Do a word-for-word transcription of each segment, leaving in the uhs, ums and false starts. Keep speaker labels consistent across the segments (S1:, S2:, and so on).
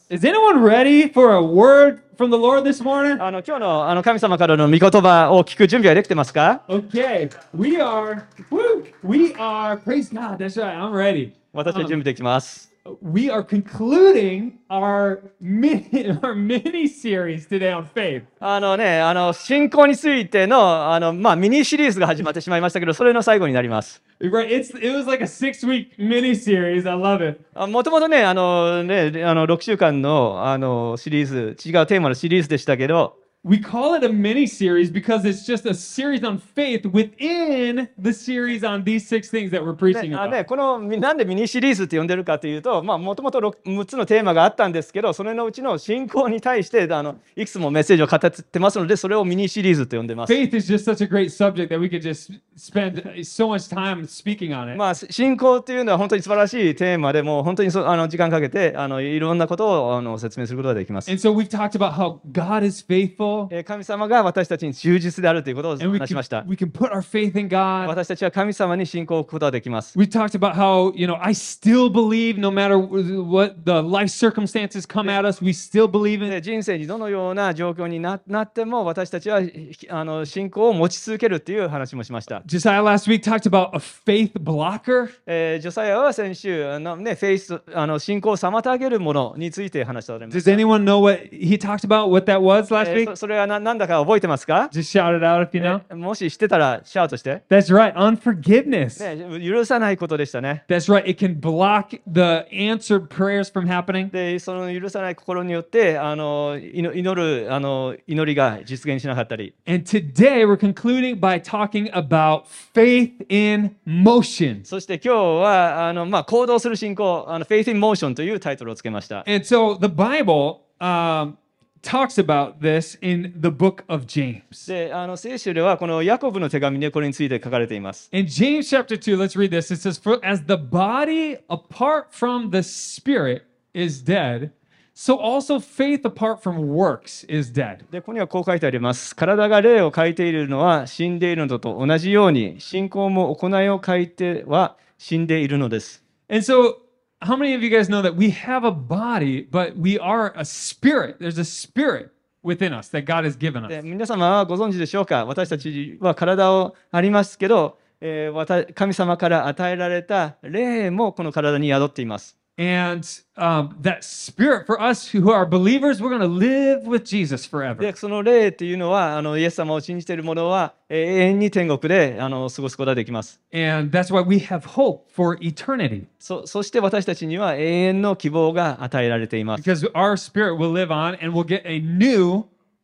S1: Is anyone ready for a word from the Lord this morning?
S2: あの今日のあの神様からの御言葉を聞く準備はできてますか？
S1: Okay, we are, woo, we are, praise God, that's right, I'm ready.
S2: 私は準
S1: Um,
S2: 備できます。
S1: we are concluding our mini, our mini series today on faith.
S2: あのね、あの信仰についてのあの、まあ、ミニシリーズが始まってしまいましたけど、それの最後になります。
S1: Right, it's it was like a six-week mini series. I love it.
S2: もともとね、あのね、あのろくしゅうかんのあのシリーズ、違うテーマのシリーズでしたけど、
S1: We call it a mini series because it's just a series on faith within the series on these six things that we're
S2: ね
S1: preaching
S2: あ
S1: about.
S2: ね、このなんでミニシリーズって呼んでるかというと、もともとむっつのテーマがあったんですけど、それのうちの信仰に対してあのいくつもメッセージを語ってますので、それをミニシリーズと呼んでます。
S1: Faith is just such a great subject that we could just spend so much time speaking on it.
S2: まあ、信仰っていうのは本当に素晴らしいテーマでもう本当にそあの時間かけてあのいろんなことをあの説明することができます。
S1: And so we've talked about how God is faithful,
S2: えー神様が私たちに忠実であるということを
S1: and we
S2: 話し
S1: can,
S2: ました。
S1: we can put our faith in God.
S2: 私たちは神様に信仰を置くことができます。
S1: We talked about how, you know, I still believe no matter what the life circumstances come at us, we still believe in
S2: で
S1: it.
S2: 人生にどのような状況に な, なっても私たちはあの信仰を持ち続けるっていう話もしました。
S1: Josiah last week talked about a faith blocker.
S2: えージョサヤは先週あの、ね、フェイスあの信仰を妨げるものについて話しております。
S1: Does anyone know what he talked about, what that was last
S2: えー
S1: week?
S2: そそれはな何だか覚えてますか？
S1: Just shout it out if you know.
S2: えもし知ってたらシャウトして。
S1: That's right, unforgiveness.
S2: ね、許さないことでしたね。
S1: That's right, it can block the answered prayers from happening.
S2: で、その許さない心によってあの祈祈るあの祈りが実現しなかったり。
S1: And today we're concluding by talking about faith in motion.
S2: そして今日はあの、まあ、行動する信仰、あの Faith in Motion というタイトルをつけました。
S1: And so the Bible um, talks about this in the book of James.
S2: で、あの聖書ではこのヤコブの手紙でこれについて書かれています。
S1: In James chapter two, let's read this. It says, For as the body apart from the spirit is dead, so also faith apart from works is dead.
S2: で、ここにはこう書いてあります。体が霊を欠いているのは死んでいるのと同じように、信仰も行いを欠いては死んでいるのです。
S1: And so, how many of you guys know that we have a body, but we are a spirit? There's a spirit within us that God has given
S2: で
S1: us.
S2: 皆様はご存知でしょうか？私たちは体をありますけど、えーわた神様から与えられた霊もこの体に宿っています。
S1: And um, that spirit, for us who are believers, we're going to live with Jesus forever.
S2: で、その霊っていうのは、あのイエス様を信じている者はえー永遠に天国であの過ごすことができます。
S1: And that's why we have hope for eternity.
S2: そそして私たちには永遠の希望が与えられています。
S1: Because our spirit will live on and we'll get a new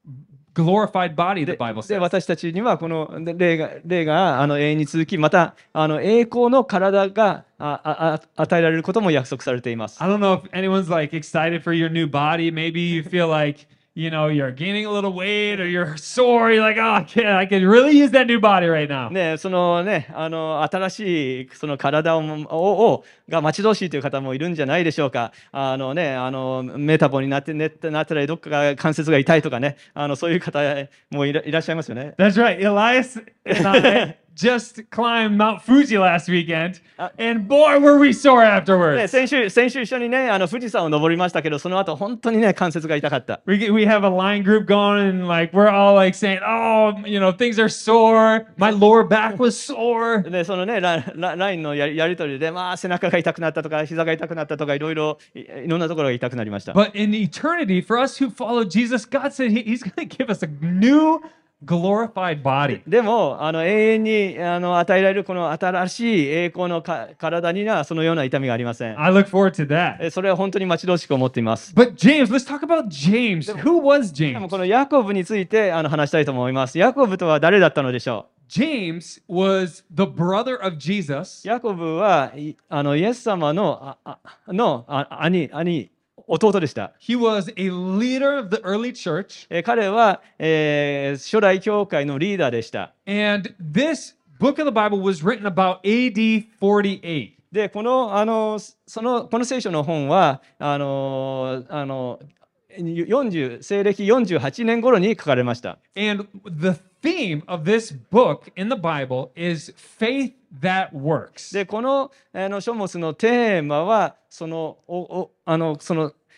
S1: glorified body, the
S2: で
S1: Bible
S2: で
S1: says.
S2: 私たちにはこの霊が霊があの永遠に続き、またあの栄光の体があああ与えられることも約束されています。
S1: I don't know if anyone's like excited for your new body. Maybe you feel like, you know, you're gaining a little weight or you're sore. You're like, oh, I can I can really use that new body right now.
S2: ね、そのね、あの新しいその体をををが待ち遠しいという方もいるんじゃないでしょうか。あのね、あのメタボになってねなったらどっかが関節が痛いとかね、あのそういう方もいらいらっしゃいますよね。
S1: That's right. Elias and I just climbed Mount Fuji last weekend, and boy, were we sore
S2: ね、
S1: afterwards.
S2: 先週先週一緒にね、あの富士山を登りましたけど、その後本当にね関節が痛かった。
S1: We, we have a line group going, and like we're all like saying, "Oh, you know, things are sore. My lower back was sore."
S2: でそのねラララインのやりやり取りで、まあ背中が痛くなったとか膝が痛くなったとかいろいろいいろんなところが痛くなりました。
S1: But in eternity, for us who follow Jesus, God said he, He's going to give us a new glorified body.
S2: でもあの永遠にあの与えられるこの新しい栄光のか体にはそのような痛みがありません。
S1: I look forward to that.
S2: えそれは本当に待ち遠しく思っています。
S1: But James, let's talk about James. Who was
S2: でも
S1: James?
S2: このヤコブについてあの話したいと思います。ヤコブとは誰だったのでしょ
S1: James was the brother of Jesus.
S2: う？ヤコブはいあのイエス様のああのあ兄兄弟でした。
S1: He was a leader of the early church.
S2: え彼は、えー初代教会のリーダーでした。
S1: And this book of the Bible was written about A D forty-eight.
S2: でこのあのそのこの聖書の本はあのあのよんじゅう西暦よんじゅうはちねん頃に書かれました。
S1: And the theme of this book in the Bible is faith that works.
S2: でこのあの書物のテーマはそのおおあのその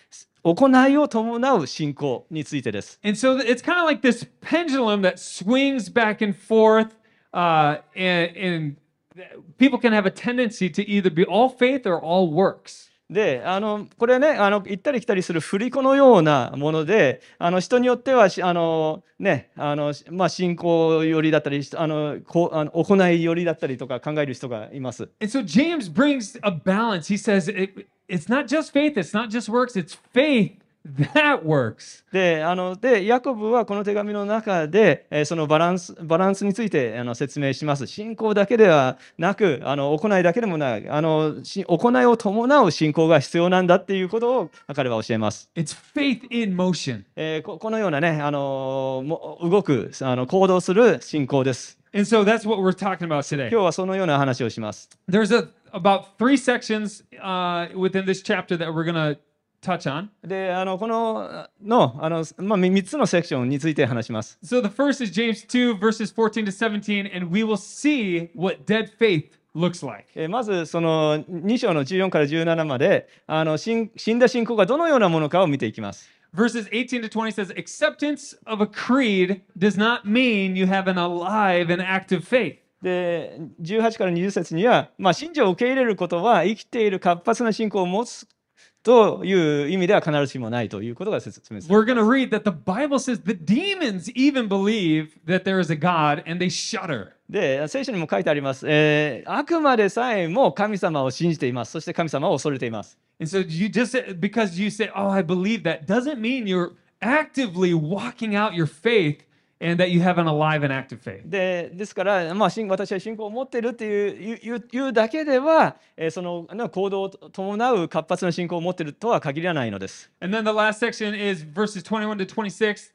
S2: 行いを伴う信仰についてです。
S1: And so it's kind of like this pendulum that swings back and forth, uh, and, and people can have a tendency to either be all faith or all works.
S2: で、あのこれね、あの行ったり来たりする振り子のようなもので、あの人によってはしあの、ね、あのまあ、信仰寄りだったり、あのこうあの行い寄りだったりとか考える人がいます。
S1: And so James brings a balance. He says it, it's not just faith, it's not just works, it's faith that works.
S2: で、あのでヤコブはこの手紙の中で、えーそのバランスバランスについてあの説明します。信仰だけではなく、あの行いだけでもない、あのし行いを伴う信仰が必要なんだっていうことを彼は教えます。
S1: It's faith in motion.
S2: えーここのようなね、あのも動くあの行動する信仰です。
S1: And so that's what we're talking about today.
S2: 今日はそのような話をします。
S1: There's a, about three sections uh, within this chapter that we're going to touch on.
S2: で、あのこののあの、まあ、みっつのセクションについて話します。
S1: So the first is James two, verses fourteen to seventeen, and we will see what dead faith looks like.
S2: えーまずそのに章のじゅうよんからじゅうななまであの死ん死んだ信仰がどのようなものかを見ていきます。
S1: Verses eighteen to twenty says, acceptance of a creed does not mean you have an alive and active faith.
S2: で、じゅうはちからにじゅう節には、まあ、信条を受け入れることは生きている活発な信仰を持つという意味では必ずしもないということが説明する。
S1: We're going to read that the Bible says the demons even believe that there is a God and they shudder.
S2: で、聖書にも書いてあります、えー悪魔でさえも神様を信じています。そして神様を恐れています。
S1: And so you just, because you say, oh, I believe that, doesn't mean you're actively walking out your faith and that you have an alive and active faith.
S2: でですから、まあ、信私は信仰を持っているっていう言う言うだけでは、えーそのね行動を伴う活発な信仰を持っているとは限らないのです。
S1: And then the last section is verses twenty-one to twenty-six.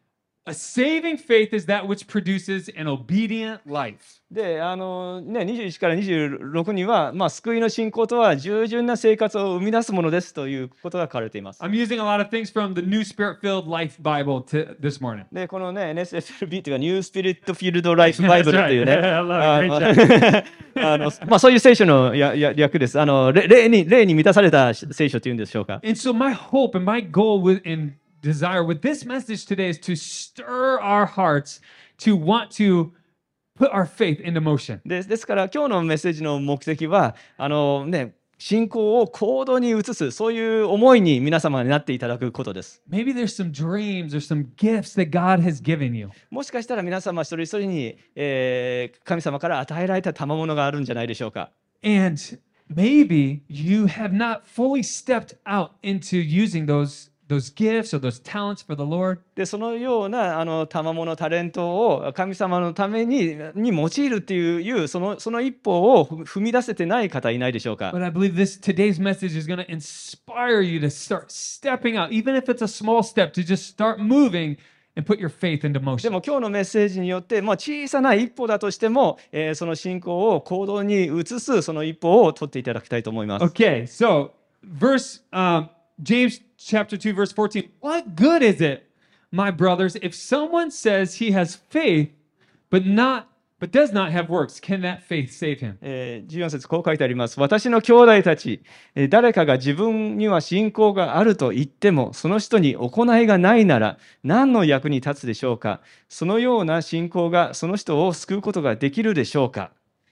S1: A saving faith is that which produces an obedient life.
S2: で、あのね、にじゅういちからにじゅうろくには、まあ、救いの信仰とは従順な生活を生み出すものですということが書かれています。
S1: I'm using a lot of things from the New Spirit-filled Life Bible to this morning.
S2: で、このね、エヌエスエフエルビー というか、ニュースピリットフィールドライフバイブルっていうね、
S1: That's right. Yeah, I
S2: あ
S1: love
S2: の
S1: it. Great
S2: あのまあ、そういう聖書のやや略です。あのれ霊に霊に満たされた聖書というんでしょうか。
S1: And so my hope and my goal with, and desire with this message today is to stir our hearts to want to put our faith into motion.
S2: でですから今日のメッセージの目的はあの、ね、信仰を行動に移すそういう思いに皆様になっていただくことです。
S1: Maybe there's some dreams or some gifts that God has given you.
S2: もしかしたら皆様一人一人に、えー神様から与えられた賜物があるんじゃないでしょうか。
S1: And maybe you have not fully stepped out into using those, those gifts or those talents for the Lord.
S2: でそのようなあの賜物タレントを神様のためにに用いるっていういうそのその一歩を踏み出せてない方いないでしょうか。
S1: But I believe this today's message is going to inspire you to start stepping out, even if it's a small step, to just start moving and put your faith into
S2: で
S1: motion.
S2: も今日のメッセージによって、まあ、小さな一歩だとしても、えーその信仰を行動に移すその一歩を取っていただきたいと思います。
S1: Okay, so verse um, James chapter two, verse fourteen. What good is it, my brothers, if someone says he has faith but not but does not have works? Can that faith save him?
S2: えーじゅうよん節こう書いてあります。私の兄弟たち、えー誰かが自分には信仰があると言っても、その人に行いがないなら何の役に立つでしょうか。そのような信仰がその人を救うことができるでしょうか。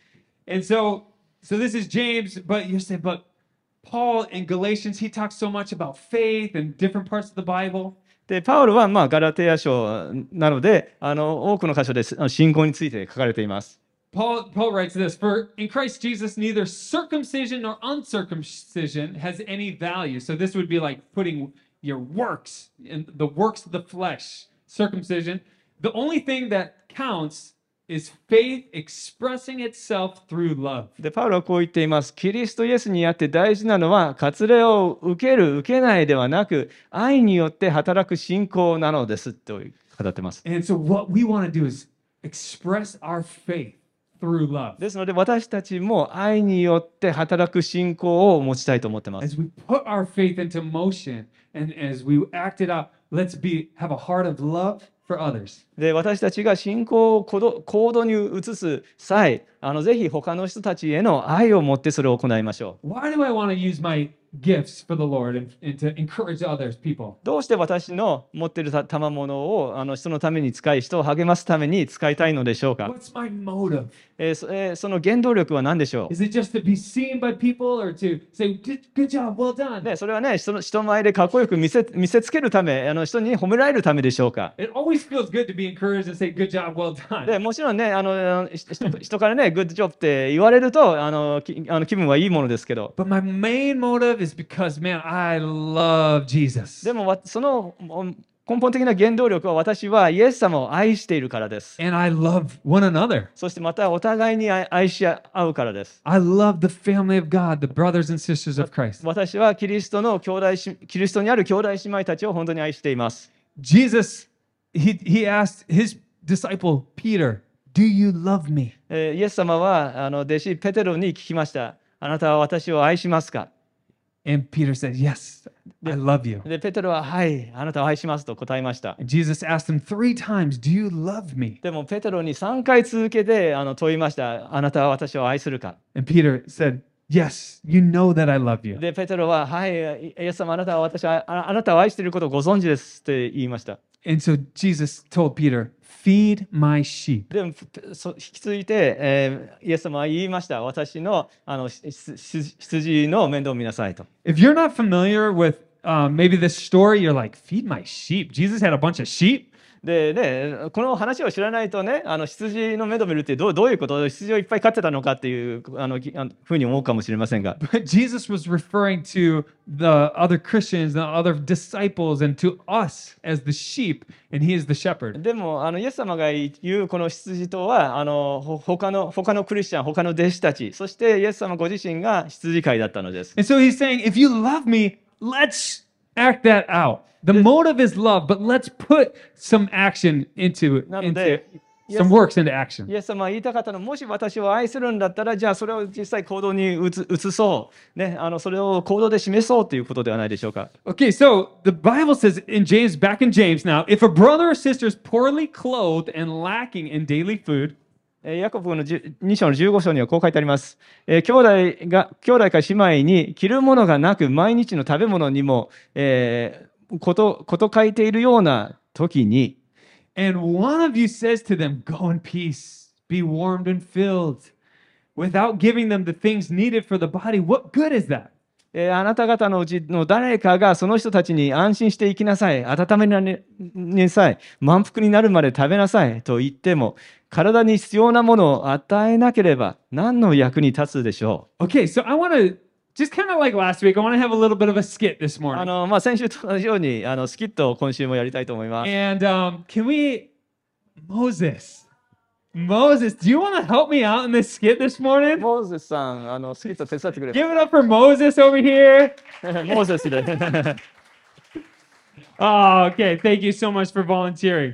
S1: And so, so this is James, but you say, but Paul in Galatians, he talks so much about faith and different parts of the Bible.
S2: でパウロはまあガラテヤ書なのであの多くの箇所であの信仰について書かれています。
S1: Paul, Paul writes this, for in Christ Jesus, neither circumcision nor uncircumcision has any value. So this would be like putting your works in the works of the flesh, circumcision. The only thing that counts is faith expressing itself through love.
S2: でパウロはこう言っています。キリストイエスにあって大事なのは割礼を受ける受けないではなく愛によって働く信仰なのですと語っています。
S1: And so what we want to do is express our faith through love.
S2: ですので私たちも愛によって働く信仰を持ちたいと思ってます。
S1: As we put our faith into motion and as we act it out, let's be have a heart of love for others.
S2: で私たちが信仰を行動行動に移す際、あのぜひ他の人たちへの愛を持ってそれを行いましょう。
S1: Why do I want to use my gifts for the Lord and, and to encourage others, people?
S2: どうして私の持っているた賜物をあの人のために使い、人を励ますために使いたいのでしょうか。
S1: What's my motive?
S2: えーそえーその原動力は何でしょ
S1: Is it just to be seen by people or to say, good, good job, well
S2: う、
S1: done?
S2: ね、それはね、人の人前でかっこよく見せ見せつけるため、あの人に褒められるためでしょうか。
S1: It always feels good to be encouraged and say, good job, well
S2: で
S1: done.
S2: もちろんね、あの人人からね、グッドジョブって言われるとあのきあの気分はいいものですけど、
S1: But my main motive is because, man, I love Jesus.
S2: でもわそのお根本的な原動力は私はイエス様を愛しているからです。
S1: And I love one another.
S2: そしてまたお互いに愛愛し合うからです。
S1: I love the family of God, the brothers and sisters of Christ.
S2: 私はキリストの兄弟しキリストにある兄弟姉妹たちを本当に愛しています。
S1: Jesus, he, he asked his disciple, Peter, do you love me?
S2: えーイエス様はあの弟子ペテロに聞きました。あなたは私を愛しますか。
S1: And Peter said, yes, I love you.
S2: で、ペテロは、はい、あなたを愛しますと答えました。
S1: And Jesus asked him three times, do you love me?
S2: でも、ペテロにさんかい続けてあの問いました。あなたは私を愛するか。
S1: And Peter said, yes, you know that I love you.
S2: で、ペテロは、はい、イエス様、あなたは私はああなたを愛していることをご存知ですって言いました。
S1: And so Jesus told Peter, feed my sheep.
S2: でも、そ引き続いて、えーイエス様は言いました。私のあのししし羊の面倒を見なさいと。
S1: If you're not familiar with um, maybe this story, you're like, feed my sheep. Jesus had a bunch of sheep.
S2: でね、この話を知らないとね、あの羊の面倒を見るってどうどういうこと、羊をいっぱい飼ってたのかっていうあのきあのふうに思うかもしれませんが、
S1: But Jesus was referring to the other Christians, the other disciples, and to us as the sheep, and he is the shepherd.
S2: でもあのイエス様が言うこの羊とはあのほ他の他のクリスチャン、他の弟子たち、そしてイエス様ご自身が羊飼いだったのです。
S1: And so he's saying, if you love me, let's act that out. The motive is love, but let's put some action into,
S2: なの
S1: into
S2: で、
S1: some works into action.
S2: イエス様は言いたかったのは、もし私を愛するんだったら、じゃあそれを実際行動に移移そう、ね、あのそれを行動で示そうということではないでしょうか。
S1: Okay, so the Bible says in James, back in James now, if a brother or sister is poorly clothed and lacking in daily food,
S2: えーヤコブのに章のじゅうご章にはこう書いてあります。えー兄弟が兄弟か姉妹に着るものがなく、毎日の食べ物にも、えーことこと書いているような時に、
S1: and one of you says to them, go in peace, be warmed and filled, without giving them the things needed for the body, what good is that?
S2: えーあなた方のうちの誰かがその人たちに安心して生きなさい、温めななさい、満腹になるまで食べなさいと言っても、体に必要なものを与えなければ何の役に立つでしょ
S1: Okay, so I want to, just kind of like last week, I want to have a little bit of a skit this
S2: う。あ
S1: morning.
S2: のまあ、先週と同じようにあのスキットを今週もやりたいと思います。
S1: And um, can we, Moses, Moses, do you want to help me out in this skit this morning?
S2: モーゼスさん、あのスキット手伝ってくれ。
S1: Give it up for Moses over here.
S2: モーゼスで。
S1: Oh, okay. Thank you so much for volunteering.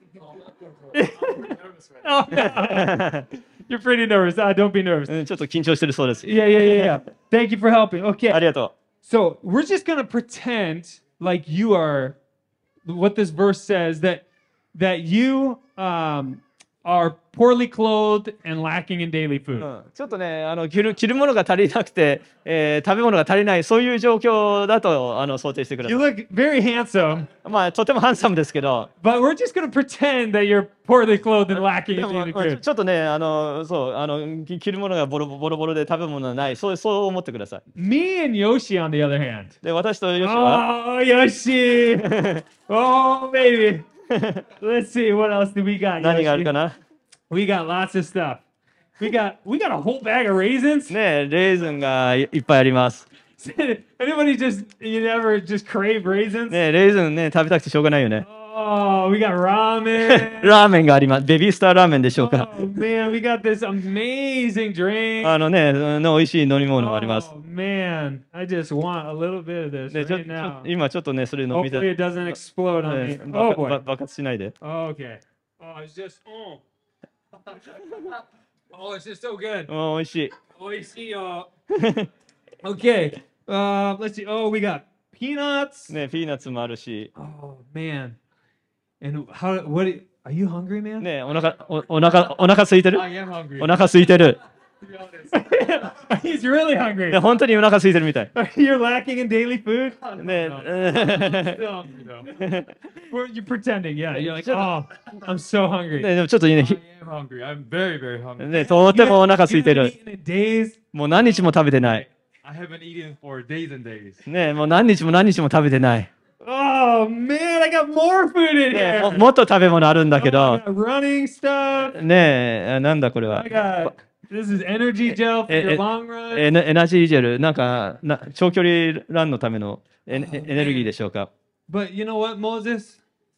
S1: Oh, no. You're pretty nervous. Ah, don't be nervous.
S2: うんちょっと緊張してるそうです。
S1: Yeah, yeah, yeah, yeah. Thank you for helping.
S2: あ
S1: Okay.
S2: りがと
S1: So we're just gonna pretend like you are what this verse says that that you um, are poorly clothed and lacking in daily
S2: う。
S1: food.
S2: うんちょっとね、あの着る着るものが足りなくて、えー食べ物が足りない、そういう状況だとあの想定してくださ
S1: You
S2: い。
S1: look very handsome,
S2: まあ、とてもハンサムですけど、
S1: but we're just gonna pretend that you're poorly clothed and lacking
S2: で
S1: in
S2: も
S1: daily
S2: まあちょ
S1: food.
S2: ちょっとね、あのそうあのき着るものがボロボロボロで食べ物がない、そうそう思ってください。
S1: Me and Yoshi, on the other hand.
S2: で、私とヨシは、
S1: Oh, Yoshi! Oh, baby. Let's see what else do we got.
S2: 何がある
S1: Yoshi?
S2: かな。
S1: We got lots of stuff. We got we got a whole bag of raisins.
S2: ね、レーズンがいいっぱいあります。
S1: Anybody just you never just crave raisins?
S2: ね、レーズンね、食べたくてしょうがないよね。
S1: Oh, we got ramen.
S2: ラーメンがあります。ベビースターラーメンでしょうか。
S1: Oh man, we got this amazing drink.
S2: あのね、の美味しい飲み物があります。
S1: Oh man, I just want a little bit of this
S2: でちょ
S1: right
S2: ちょ
S1: now.
S2: 今ちょっとね、それ飲みた
S1: Hopefully
S2: い。
S1: it doesn't explode on
S2: ね
S1: me.
S2: 爆
S1: Oh
S2: 爆
S1: boy.
S2: 爆発しないで。
S1: Okay. Oh, it's just oh. Oh, it's just so good.
S2: うん美味しい。
S1: Oh, you see, uh, okay. Uh, let's see. Oh, we got peanuts.
S2: ね、ピーナッツもあるし。
S1: Oh man. And how? What? Are you hungry, man?
S2: ね、お腹おお腹お腹空いてる？
S1: I am hungry.
S2: お腹空いてる。
S1: be honest. He's really hungry.
S2: で本当にお腹空いてるみたい。
S1: You're lacking in daily food?
S2: ね
S1: Still hungry though. Well, you're pretending, yeah. You're like, oh, I'm so hungry.
S2: ねでもちょっとね、
S1: I
S2: ひ
S1: am hungry. I'm very, very hungry.
S2: ねとてもお腹空いて
S1: You
S2: る。
S1: haven't eaten in days?
S2: もう何日も食べてない。
S3: I haven't eaten for days and days.
S2: ねもう何日も何日も食べてない。
S1: Oh man, I got more food in
S2: ね
S1: here.
S2: ももっと食べ物あるんだけ
S1: Oh, I
S2: ど、
S1: got running stuff.
S2: ねえ、なんだこれは
S1: I。got this is energy gel for
S2: Eh,
S1: your
S2: eh,
S1: long run.
S2: エネエナジージェル、なんかな長距離ランのためのエネエネルギーでしょうか。
S1: But you know what, Moses?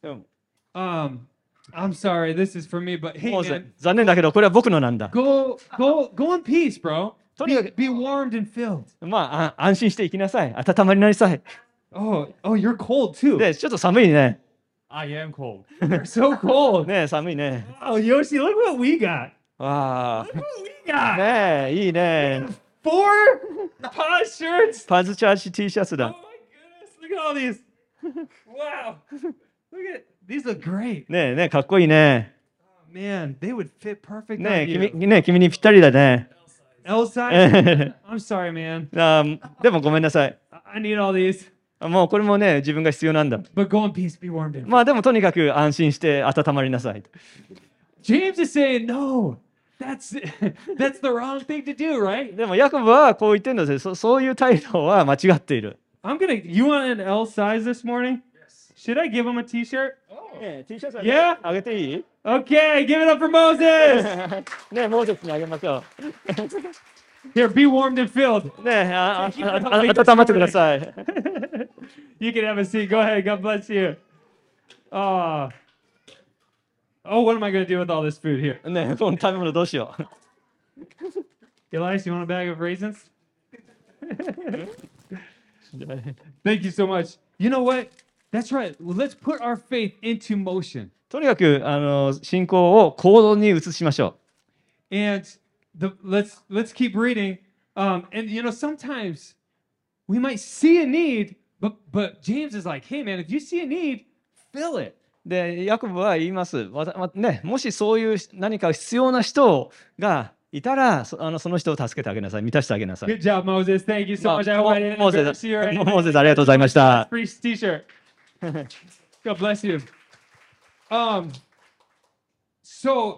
S1: Um, I'm sorry, this is for me, but hey,
S2: もう
S1: man,
S2: 残念だけど、これは僕のなんだ。
S1: go, go, go in peace, bro.
S2: とにかく
S1: Be warmed and filled.
S2: まあ、あ安心していきなさい。温まりなさい。
S1: Oh, oh, you're cold too.
S2: で、ちょっと寒いね。
S3: I am cold.
S1: You're so cold.
S2: ね寒いね。
S1: Oh, Yoshi, look what we got.
S2: わあ。
S1: Look what we got.
S2: ねえ、いいね。
S1: Four pause shirts.
S2: パズチャージ T シャツ
S1: Oh
S2: だ。
S1: my goodness, look at all these. Wow. Look at these look great.
S2: ねえ、ねえかっこいいね。
S1: Oh, man, they would fit perfect
S2: ね
S1: on
S2: え、
S1: you.
S2: 君ねえ君にぴったりだね。
S1: L size? I'm sorry, man.
S2: あーでもごめんなさい。
S1: I I need all these.
S2: もうこれもね、自分が必要なんだ。
S1: But go in peace, be warmed and
S2: まあでもとにかく安心して温まりなさい。
S1: James is saying, no, that's that's the wrong thing to do, right?
S2: でもヤコブはこう言ってるので、そそういう態度は間違っている。
S1: I'm gonna. You want an L size this morning? Should I give him a T-shirt?
S2: ねえ T シャツ
S1: Yeah?
S2: あげていい
S1: Okay, give it up for Moses.
S2: ねえ、モーゼスにあげましょ
S1: Here, be warmed and filled.
S2: う。ねえ、ああああ温まってください。
S1: You can have a seat. Go ahead. God bless you. Uh, oh, what am I gonna do with all this food here?
S2: ねえ、この食べ物どうしよう。
S1: Elias, you want a bag of raisins? Thank you so much. You know what? That's right. Well, let's put our faith into motion.
S2: とにかくあの信仰を行動に移しましょ
S1: And the let's let's keep reading. Um, and you know, sometimes we might see a need, but but James is like, hey man, if you see a need, fill it.
S2: う。で、ヤコブは言います。わたまね、もしそういう何か必要な人がいたら、そあのその人を助けてあげなさい。満たしてあげなさい。
S1: Good job, Moses. Thank you so
S2: まあ
S1: much. I hope I didn't
S2: モーゼ
S1: embarrass you or
S2: ス、
S1: anything.
S2: モーゼスありがとうございました。
S1: Free T-shirt. God bless you. Um. So,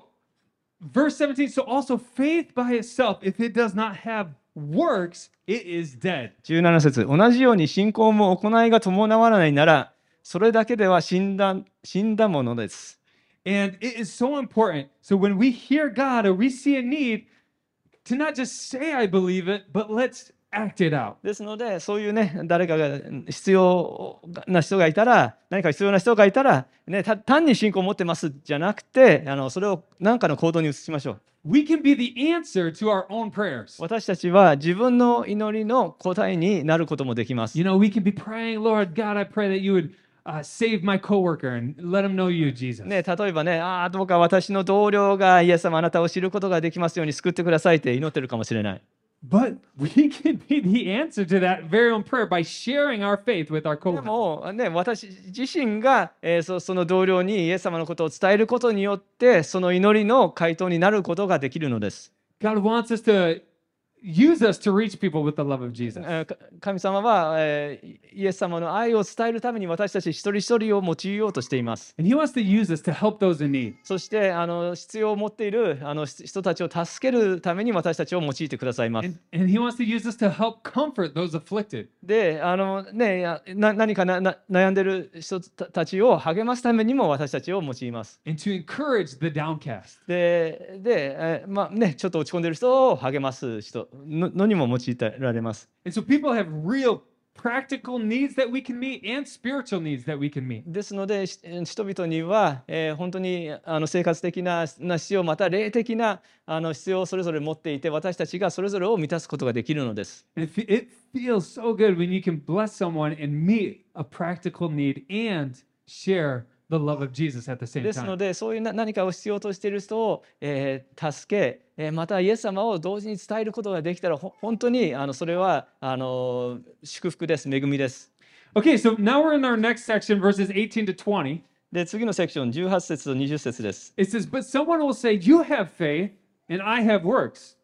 S1: verse seventeen. So also faith by itself, if it does not have works, it is dead.
S2: じゅうなな節、同じように信仰も行いが伴わないなら、それだけでは死んだ死んだものです。
S1: And it is so important. So when we hear God or we see a need, to not just say I believe it, but let's act it out.
S2: ですので、そういうね、誰かが必要な人がいたら、何か必要な人がいたら、ね、た単に信仰を持ってますじゃなくて、あのそれを何かの行動に移しましょう。
S1: We can be the answer to our own prayers.
S2: 私たちは自分の祈りの答えになることもできます。
S1: You know, we can be praying, Lord God, I pray that you would uh, save my coworker and let him know you, Jesus.
S2: ね、例えばね、ああ、どうか私の同僚がイエス様あなたを知ることができますように救ってくださいって祈ってるかもしれない。
S1: But we can be the answer to that very own prayer by sharing our faith with our
S2: で
S1: coworker.
S2: も、ね、私自身が、えーそその同僚にイエス様のことを伝えることによってその祈りの回答になることができるのです。
S1: God wants us to use us to reach people with the love of Jesus.
S2: えーか神様は、えーイエス様の愛を伝えるために私たち一人一人を用いようとしています。
S1: And He wants to use us to help those in need.
S2: そしてあの必要を持っているあの人たちを助けるために私たちを用いてくださいます。
S1: And, and He wants to use us to help comfort those afflicted.
S2: で、あのね、やな何かなな悩んでる人たちを励ますためにも私たちを用います。
S1: And to encourage the downcast.
S2: で、でえーまあね、ちょっと落ち込んでる人を励ます人ののにも用いられます。
S1: And so people have real practical needs that we can meet and spiritual needs that we can meet.
S2: ですので、し人々には、えー本当にあの生活的なな必要、また霊的なあの必要をそれぞれ持っていて、私たちがそれぞれを満たすことができるのです。
S1: And it, fe- it feels so good when you can bless someone and meet a practical need and share the love of Jesus at the same
S2: ですの
S1: time.
S2: で、そういうな何かを必要としている人を、えー助け、えーまたイエス様を同時に伝えることができたら、ほ本当にあのそれはあの祝福です、恵みです。
S1: Okay, so now we're in our next section, verses eighteen to twenty.
S2: で、次のセクション、じゅうはち節とにじゅう節です。
S1: It says, But someone will say, You have faith, and I have works.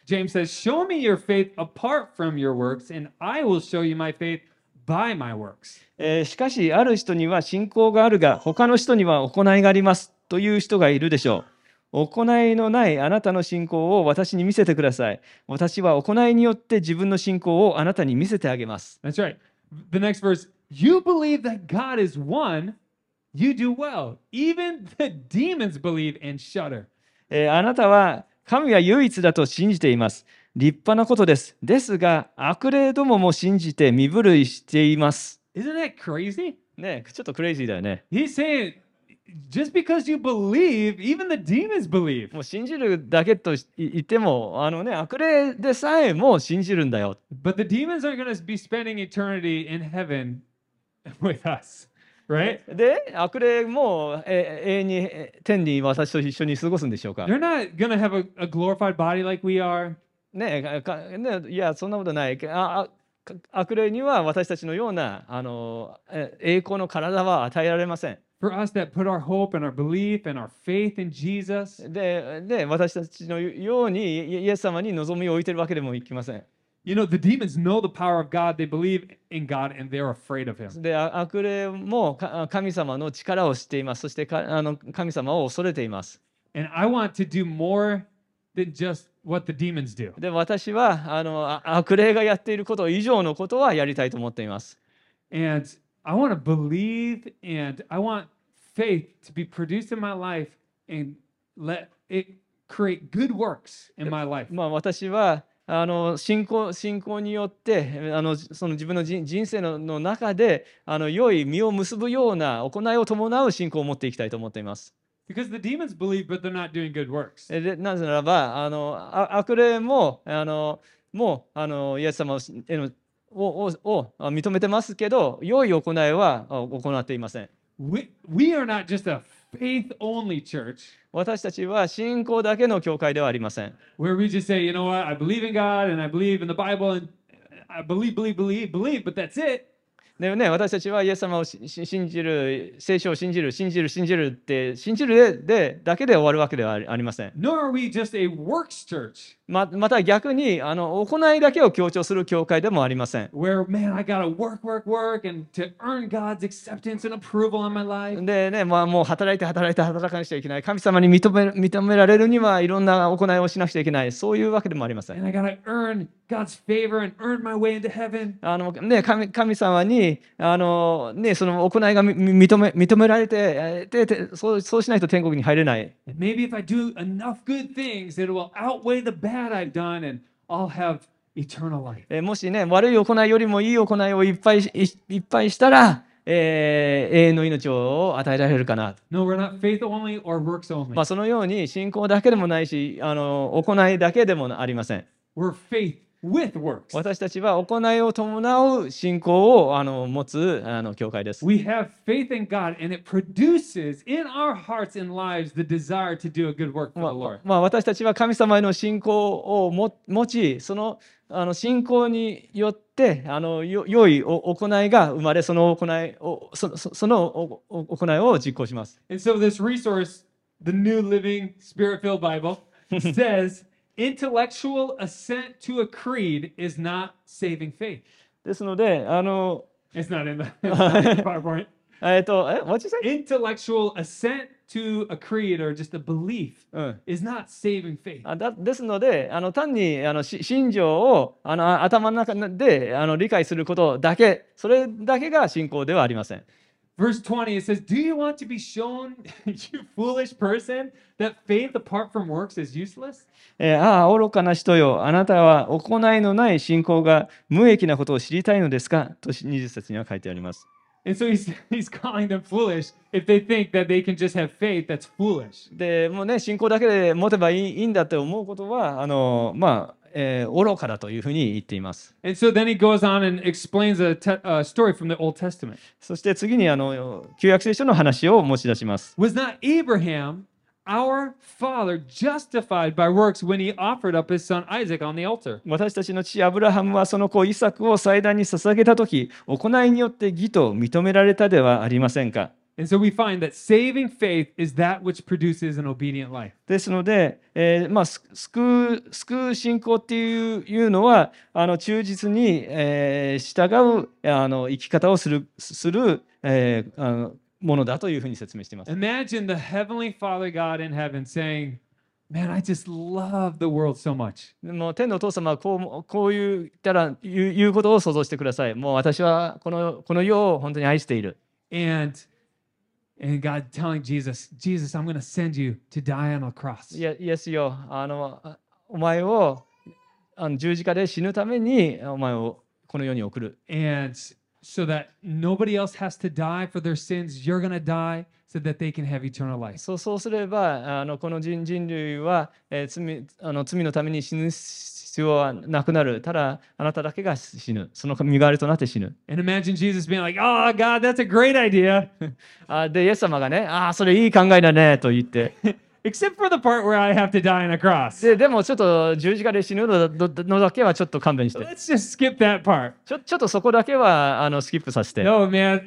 S1: James says, "Show me your faith apart from your works, and I will show you my faith by my works."
S2: えーしかし、ある人には信仰があるが、他の人には行いがありますという人がいるでしょう。行いのないあなたの信仰を私に見せてください。私は行いによって自分の信仰をあなたに見せてあげます。
S1: That's right. The next verse, "You believe that God is one, you do well. Even the demons believe and shudder."
S2: えーあなたは神は唯一だと信じています。立派なことです。ですが、悪霊どもも信じて身震いしています。
S1: Isn't that crazy?
S2: ね、ちょっとクレイジーだよね。
S1: He's saying, just because you believe, even the demons believe.
S2: もう信じるだけと言っても、あのね、悪霊でさえも信じるんだよ。
S1: But the demons aren't going to be spending eternity in heaven with us, right?
S2: で、悪霊も、え永遠にえ天に私と一緒に過ごすんでしょうか。
S1: They're not going to have a, a glorified body like we are.
S2: ねかね、いや、そんなことない。ああか悪霊には私たちのようなあのえ栄光の体は与えられません。
S1: For us that put our hope and our belief and our faith in Jesus,
S2: で、で私たちのようにイイエス様に望みを置いてるわけでもいきません。
S1: you know, the demons know the power of God. They believe in God and they're afraid of Him.
S2: で、あ悪霊もか神様の力を知っています。そしてかあの神様を恐れています。
S1: And I want to do more than just what the demons do.
S2: で、私はあのあ悪霊がやっていること以上のことはやりたいと思っています。
S1: And I want to believe and I want faith to be produced in my life and let it create good works in my life.
S2: まあ、私はあの信仰信仰によってあのその自分の人人生のの中であの良い実を結ぶような行いを伴う信仰を持っていきたいと思っています。
S1: Because the demons believe, but they're not doing good works.
S2: でなぜならばあのあ悪霊もあのもうあのイエス様へのををを認めてますけど、良い行いはあ行っていません。
S1: We, we are not just a faith only church
S2: 私たちは信仰だけの教会ではありません。
S1: where we just say, you know what, I believe in God and I believe in the Bible and I believe, believe, believe, believe, but that's it.
S2: でね、私たちはイエス様をしし信じる、聖書を信じる、信じる、信じるって信じるでだけで終わるわけではありありません。
S1: Nor are we just a works church
S2: ままた逆にあの行いだけを強調する教会でもありません。
S1: where, man, I got to work, work, work and to earn God's acceptance and approval on my life.
S2: でね、まあ、もう働いて働いて働かなくちゃいけない。神様に認め認められるにはいろんな行いをしなくちゃいけない。そういうわけでもありません。
S1: And I got to earn God's favor and earn my way into heaven.
S2: あのね、神, 神様にあの、ね、その行いがみ認め認められてえででそうそうしないと天国に入れない。
S1: And maybe if I do enough good things, it will outweigh the bad I've done and I'll have eternal life.
S2: えもしね、悪い行いよりもいい行いをいっぱいいいっぱいしたら、えー永遠の命を与えられるかな。
S1: No, we're not faith only or works only.
S2: まあ、そのように信仰だけでもないし、あの行いだけでもありません。
S1: We're faith with works.
S2: 私たちは行いを伴う信仰をあの持つあの教会です。
S1: We have faith in God and it produces in our hearts and lives the desire to do a good work for
S2: ま
S1: the Lord.
S2: あまあ、私たちは神様への信仰をも持ち、そのあの信仰によってあのよ良いお行いが生まれ、その行いをそそそのおお行いを実行します。
S1: And so this resource, the New Living Spirit-filled Bible, says intellectual assent to a creed is not saving faith.
S2: ですので、あの
S1: It's not in the, it's not in the PowerPoint.
S2: えっと、え、what you say?
S1: Intellectual assent to a creed or just a belief
S2: うん
S1: is not saving faith.
S2: あだですので、あの単にあのし信条をあの頭の中であの理解することだけ、それだけが信仰ではありません。
S1: Verse twenty, it says, "Do you want to be shown, you foolish person, that faith apart from works is useless?"
S2: えーああ、愚かな人よ、あなたは行いのない信仰が無益なことを知りたいのですかとにじゅっ節には書いてあります。
S1: And so he's, he's calling them foolish if they think that they can just have faith that's foolish.
S2: でもうね、信仰だけで持てばいいいいんだって思うことは、あのまあ、えー愚かだというふうに言っています。
S1: And so then he goes on and explains a, te- a story from the Old Testament.
S2: そして次にあの旧約聖書の話を持ち出します。
S1: Was not Abraham, our father, justified by works when he offered up his son Isaac on the altar?
S2: 私たちの父アブラハムはその子イサクを祭壇に捧げたとき、行いによって義と認められたではありませんか。
S1: And so we find that saving faith is that which produces an obedient life.
S2: ですので、えーまあ、す救う救う信仰っていういうのはあの忠実に、えー従うあの生き方をするする、えーあのものだというふうに説明しています。
S1: Imagine the Heavenly Father God in heaven saying, Man, I just love the world so much.
S2: でも天のお父様はこうこう言ったら言う言うことを想像してください。もう私はこのこの世を本当に愛している。
S1: And and God telling Jesus, Jesus, I'm going to send you to die on a cross.
S2: いやイエスよあのあお前をあの十字架で死ぬためにお前をこの世に送る。
S1: And so that nobody else has to die for their sins, you're going to die so that they can have eternal life.
S2: そうそうすればあのこの人人類は、えー罪あの罪のために死ぬ必要はなくなる。ただあなただけが死ぬ。その身代わりとなって死ぬ。
S1: And imagine Jesus being like, Oh, God, that's a great idea.
S2: あでイエス様がね、ああそれいい考えだねと言って、
S1: Except for the part where I have to die on a cross.
S2: ででもちょっと十字架で死ぬのだのだけはちょっと勘弁して。
S1: Let's just skip that part.
S2: ちょちょっとそこだけはあのスキップさせて。
S1: No, man.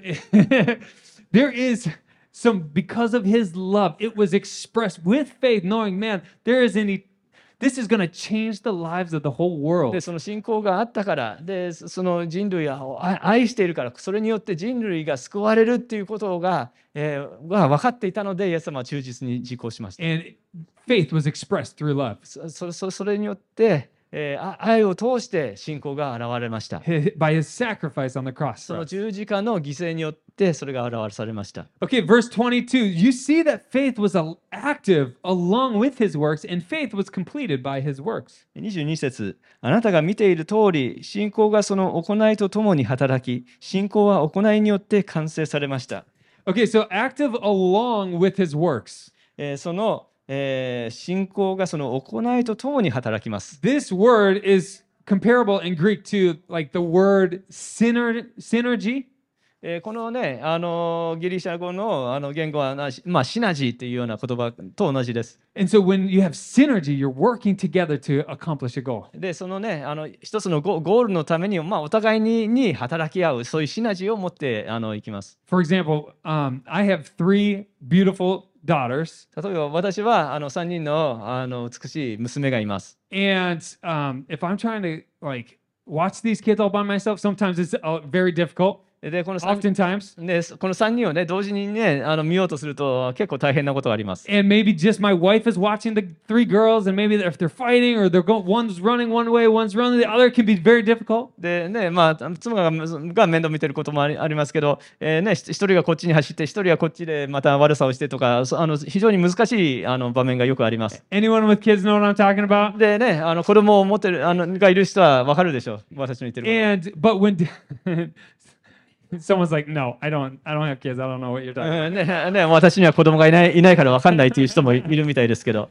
S1: There is some, because of his love, it was expressed with faith, knowing, man, there is any, this is going to change the lives of the whole
S2: で
S1: world.
S2: その信仰があったからでその人類を愛愛しているからそれによって人類が救われるっていうことが、えー、が分かっていたのでイエス様は忠実に実行しました。
S1: And faith was expressed through love.
S2: そそそそれによって、えーあ愛を通して信仰が現れました。
S1: Hi- By his sacrifice on the cross.
S2: そ
S1: for
S2: の
S1: us.
S2: 十字架の犠牲によってそれが表されました。
S1: Okay, verse twenty-two. You see that faith was a- active along with his works, and faith was completed by his works.
S2: にじゅうに節、あなたが見ている通り、信仰がその行いとともに働き、信仰は行いによって完成されました。
S1: Okay, so active along with his works.
S2: えーその、えー信仰がその行いとともに働きます。
S1: This word is comparable in Greek to like the word syner- synergy.
S2: えーこのね、あのギリシャ語のあの言語はな、まあ、シナジーというような言葉と同じです。
S1: And so when you have synergy, you're working together to accomplish a goal.
S2: で、そのね、あの一つのゴゴールのために、まあ、お互いにに働き合う、そういうシナジーを持ってあのいきます。
S1: For example, um, I have three beautiful daughters,
S2: 例えば私はあのさんにんのあの美しい娘がいます。
S1: and um, if I'm trying to like watch these kids all by myself, sometimes it's uh, very difficult.
S2: で、このさん
S1: Oftentimes,
S2: でこのさんにんをね、同時にね、あの見ようとすると結構大変なことがあります。
S1: and maybe just my wife is watching the three girls, and maybe if they're fighting or they're going, one's running one way, one's running the other, can be very difficult.
S2: でね、まあ、妻がが面倒見てることもありありますけど、えーね、ひ一人がこっちに走って一人はこっちでまた悪さをしてとか、そあの非常に難しいあの場面がよくあります。
S1: Anyone with kids know what I'm talking about?
S2: でね、あの子供を持ってるあのがいる人は分かるでしょう、私の言ってること。
S1: And but when someone's like, no, I don't, I don't have kids. I don't know what you're talking about.
S2: うんねね、私には子供がいないいないから分かんないっていう人もいるみたいですけど、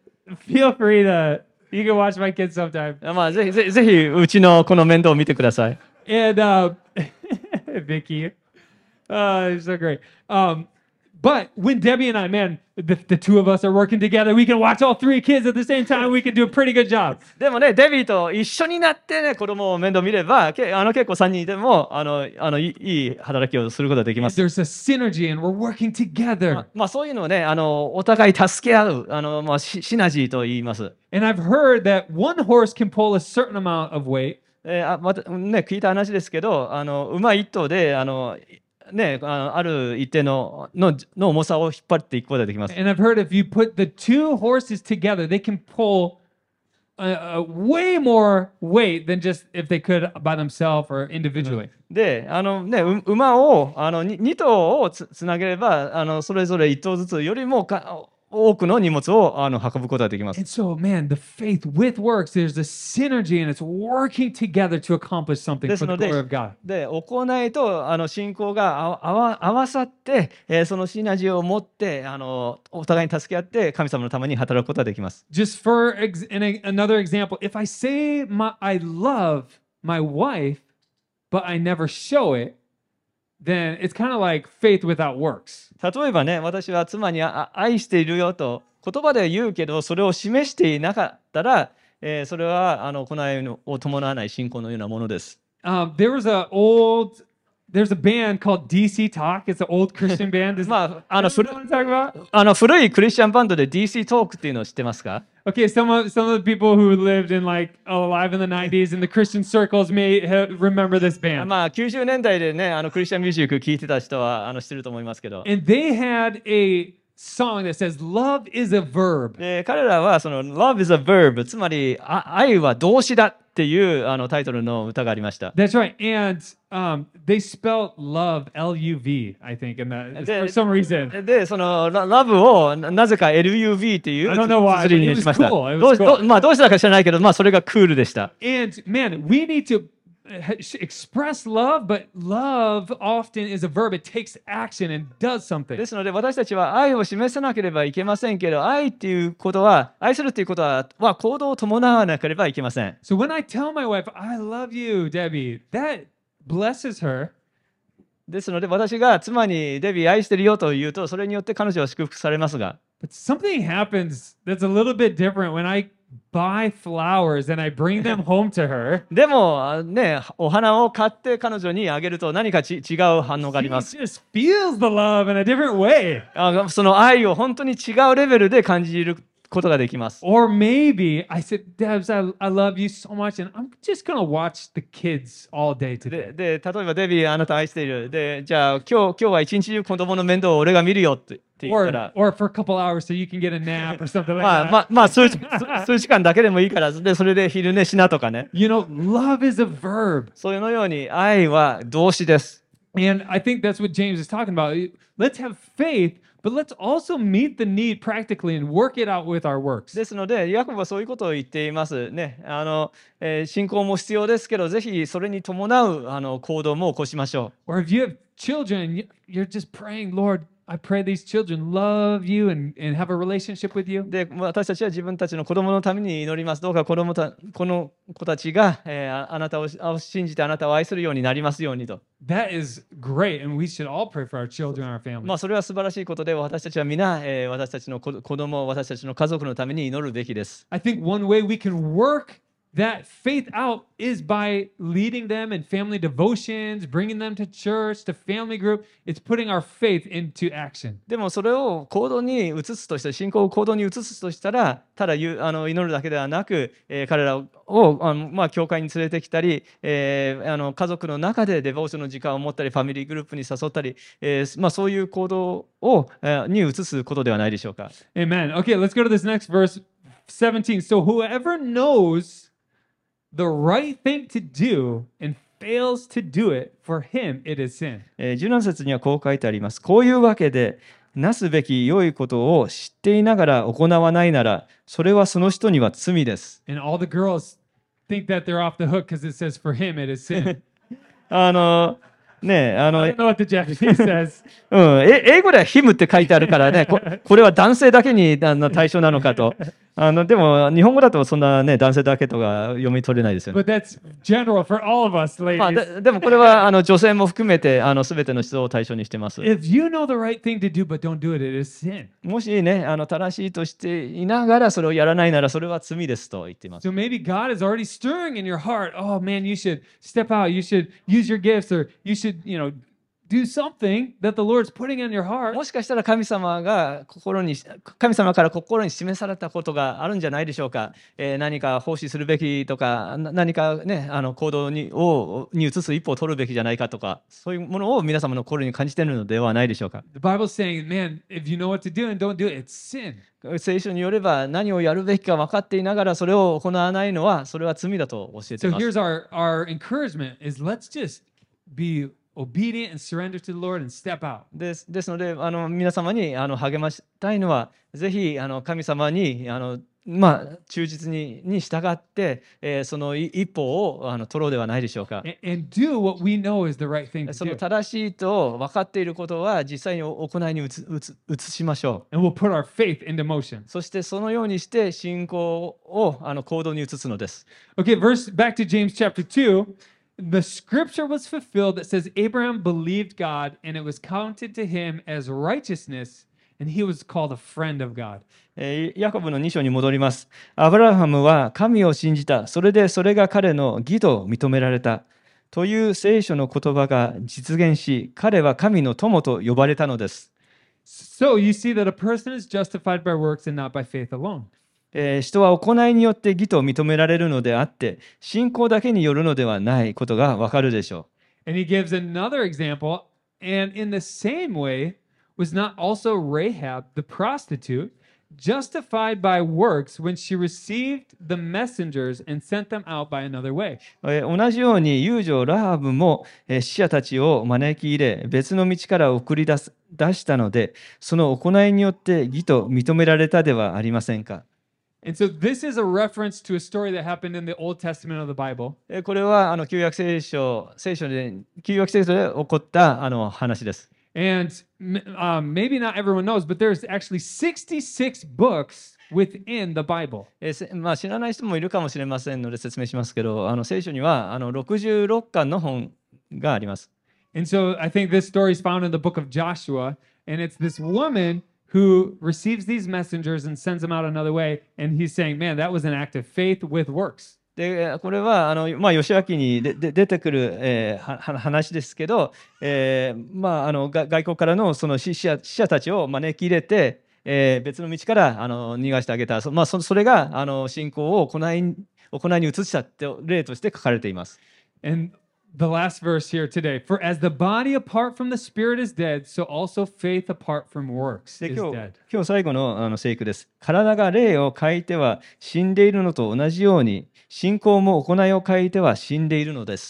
S1: Feel free to, you can watch my kids sometime.
S2: まあ、ぜひぜひぜひうちのこの面倒を見てください。
S1: And uh, Vicky, uh, it's so great. Um, but when Debbie and I, man, the, the two of us are working together, we can watch all three kids at the same time. We can do a pretty good job.
S2: でもね、デビーと一緒になってね、子供を面倒見れば、けあの結構さんにんいてもあのあのいいいい働きをすることができます。
S1: There's a synergy, and we're working
S2: ま
S1: together.
S2: あまあ、そういうのをね、あのお互い助け合う、あのまあ、シシナジーと言います。
S1: And I've heard that one horse can pull a certain amount of weight,
S2: えーあまたね、聞いた話ですけど、あの馬一頭であの、ね、あのある一定ののの重さを引っ張っていくことができます。
S1: and I've heard if you put the two horses together, they can pull a, a way more weight than just if they could by themselves or individually.
S2: で、あのね、う馬をあのにに頭をつつなげればあの、それぞれいっ頭ずつよりもか多くの荷物をあの運ぶことができます。
S1: And so, man, the faith with works, there's a synergy and it's working together to accomplish something
S2: で
S1: for
S2: す
S1: the
S2: の
S1: glory of
S2: で
S1: God.
S2: で行いとあの信仰があ合わ合わさって、えーそのシナジーを持ってあのお互いに助け合って神様のために働くことができます。
S1: Just for ex- in a, another example, if I say my, I love my wife, but I never show it, then it's kind of like faith without works.
S2: 例えばね、私は妻にあ愛しているよと言葉で言うけど、それを示していなかったら、えーそれはあの行いを伴わない信仰のようなものです。
S1: Um, there was an old there's a band called D C Talk. It's an old Christian band. Does
S2: まあ、あの
S1: you
S2: 古
S1: know what I'm talking about?
S2: あの古いクリスチャンバンドで ディーシー トークっていうのを知ってますか？
S1: Okay, some of some of the people who lived in like alive in the nineties in the Christian circles may ha- remember this band.
S2: まあ、きゅうじゅうねんだいでね、あのクリスチャンミュージック聴いてた人はあの知ってると思いますけど、
S1: And they had a song that says "Love is a verb."
S2: で彼らはその Love is a verb、つまりあ愛は動詞だっていうあのタイトルの歌がありました。
S1: That's right. And um, they spelled love L U V, I think, in that
S2: The-
S1: for some reason.
S2: で、そのララブをななぜか エルユーブイ っていう
S1: I don't know why,
S2: 綴りにしました。
S1: but it was cool. It was
S2: どう
S1: cool.
S2: どうまあどうしたか知らないけど、まあそれがクールでした。
S1: And man, we need to uh, express love, but love often is a verb. It takes action and does something.
S2: ですので私たちは愛を示さなければいけませんけど、愛っていうことは、愛するっていうことは、は行動を伴わなければいけません。
S1: So when I tell my wife, I love you, Debbie, that blesses her.
S2: ですので私が妻にデビー愛してるよと言うと、それによって彼女は祝福されますが、
S1: But something happens that's a little bit different when I buy flowers and I bring them home to her.
S2: でもあね、お花を買って彼女にあげると何かち違う反応があり
S1: She
S2: ます。
S1: just feels the love in a different way.
S2: あその愛を本当に違うレベルで感じることができます。
S1: Or maybe I said, Debs, I, I love you so much, and I'm just going to watch the kids all day
S2: で
S1: today.
S2: で例えばデビーあなた愛している。でじゃあ今日今日は一日中子供の面倒を俺が見るよってって言った
S1: Or,
S2: ら。
S1: or for a couple hours so you can get a nap or something like
S2: まあ
S1: that.
S2: まあまあ数時数時間だけでもいいからでそれで昼寝しなとかね。
S1: You know, love is a verb.
S2: そういうのように愛は動詞です。
S1: And I think that's what James is talking about. Let's have faith, but let's also meet the need practically and work it out with our works.
S2: ですのでヤコブはそういうことを言っていますね。あの、えー信仰も必要ですけど、ぜひそれに伴うあの行動も起こしましょ
S1: Or if you have children, you- you're just praying, Lord, I pray these children love you and, and have a relationship with you.
S2: う。で私たちは自分たちの子供のために祈ります。どうか子供たこの子たちが、えーああなたをあ信じてあなたを愛するようになりますようにと。
S1: That is great, and we should all pray for our children and our families.
S2: まあそれは素晴らしいことで、私たちは皆、えー私たちの子子供、私たちの家族のために祈るべきです。
S1: I think one way we can work that faith out is by leading them in family devotions, bringing them to church, to family group. It's putting our faith into action.
S2: でもそれを行動に移すとしたら、信仰を行動に移すとしたら、ただ言うあの祈るだけではなく、えー彼らをあの、まあ、教会に連れてきたり、えーあの家族の中でデボーションの時間を持ったり、ファミリーグループに誘ったり、えーまあ、そういう行動を、えーに移すことではないでしょうか。
S1: Amen. Okay, let's go to this next verse, seventeen. So whoever knows the right thing to do and fails to do it, for him it is sin.
S2: えーじゅうなな節にはこう書いてあります。こういうわけで、なすべき良いことを知っていながら行わないなら、それはその人には罪です。
S1: And all the girls think that they're off the hook because it says, for him it is sin.
S2: あのねあの
S1: I don't know what the Japanese says.
S2: うん、え英語ではヒムって書いてあるからね、ここれは男性だけにあの対象なのかと。あのでも日本語だとそんなね男性だけとか読み取れないですよね。
S1: But that's general for all of us,
S2: まあ、
S1: ladies.
S2: ででもこれはあの女性も含めてあの全ての人を対象にしてます。
S1: If you know the right thing to do but don't do it, it is sin.
S2: もしねあの正しいとしていながらそれをやらないならそれは罪ですと言っています。
S1: So maybe God is already stirring in your heart. Oh man, you should step out. You should use your gifts, or you should, you know, do something that the Lord's putting in your heart.
S2: もしかしたら神様が心に神様から心に示されたことがあるんじゃないでしょうか。えー何か奉仕するべきとかな何かねあの行動にをに移す一歩を取るべきじゃないかとかそういうものを皆様の心に感じているのではないでしょうか。
S1: The Bible's saying, man, if you know what to do and don't do it, it's sin.
S2: 聖書によれば何をやるべきか分かっていながらそれを行わないのはそれは罪だと教えてい
S1: So
S2: ます。
S1: here's our, our encouragement is let's just be obedient and surrender to the Lord and step out.
S2: ですですのであの皆様にあの励ましたいのはぜひあの神様にあのまあ忠実にに従って、えーそのい一歩をあの取ろうではないでしょうか。
S1: And, and do what we know is the right thing
S2: そ
S1: to
S2: の
S1: do.
S2: 正しいと分かっていることは実際に行いに移つ移つ移しましょう。
S1: And we'll put our faith into motion.
S2: そしてそのようにして信仰をあの行動に移すのです。
S1: Okay, verse back to James chapter two. The scripture was fulfilled that says Abraham believed God and it was counted to him as righteousness, and he was called a friend of God.
S2: えーヤコブのに章に戻ります。アブラハムは神を信じた。それでそれが彼の義と認められた。 という聖書の言葉が実現し、彼は神の友と呼ばれたのです。
S1: So you see that a person is justified by works and not by faith alone.
S2: えー人は行いによって義と認められるのであって、信仰だけによるのではないことがわかるでしょ
S1: And he gives another example. And in the same way, was not also Rahab the prostitute justified by works when she received the messengers and sent them out by another way?
S2: う。えー同じように、遊女ラハブも、えー死者たちを招き入れ、別の道から送り出す出したので、その行いによって義と認められたではありませんか。
S1: And so this is a reference to a story that happened in the Old Testament of the Bible.
S2: えーこれはあの旧約聖書、聖書で旧約聖書で起こったあの話です。
S1: And m- um, maybe not everyone knows, but there's actually sixty-six books within the Bible.
S2: えーせまあ、知らない人もいるかもしれませんので説明しますけど、あの聖書にはあのろくじゅうろっかんの本があります。
S1: And so I think this story is found in the book of Joshua. And it's this woman who receives these messengers and sends them out another way. And he's saying, man, that was an act of faith with works.
S2: でこれはあの、まあ、義明にでで出てくる、えーはは話ですけど、えーまあ、あのが外国からのその死者死者たちを招き入れて、えー別の道からあの逃がしてあげた、そ,、まあ、そそれがあの信仰を行い行いに移したって例として書かれています。
S1: And the last verse here today, for as the body apart from the spirit is dead, so also faith apart from works
S2: で
S1: is
S2: 今日
S1: dead.
S2: 今日最後のあの聖句です。体が霊を欠いては死んでいるのと同じように、信仰も行いを欠いては死んでいるのです。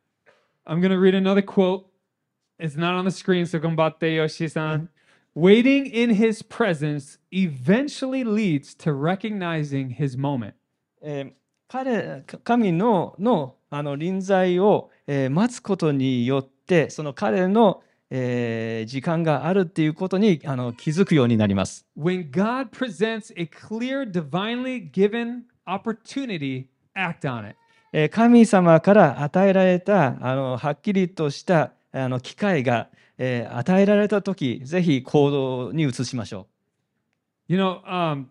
S1: I'm going to read another quote. It's not on the screen, so combate Yoshi-san. Waiting in his presence eventually leads to recognizing his moment.
S2: えー彼か神ののあの臨在を、えー待つことによってその彼の、えー時間があるっていうことにあの気づくようになります。
S1: When God presents a clear, divinely given opportunity, act on it.
S2: えー神様から与えられたあのはっきりとしたあの機会が、えー与えられた時、ぜひ行動に移しましょ
S1: You know, um,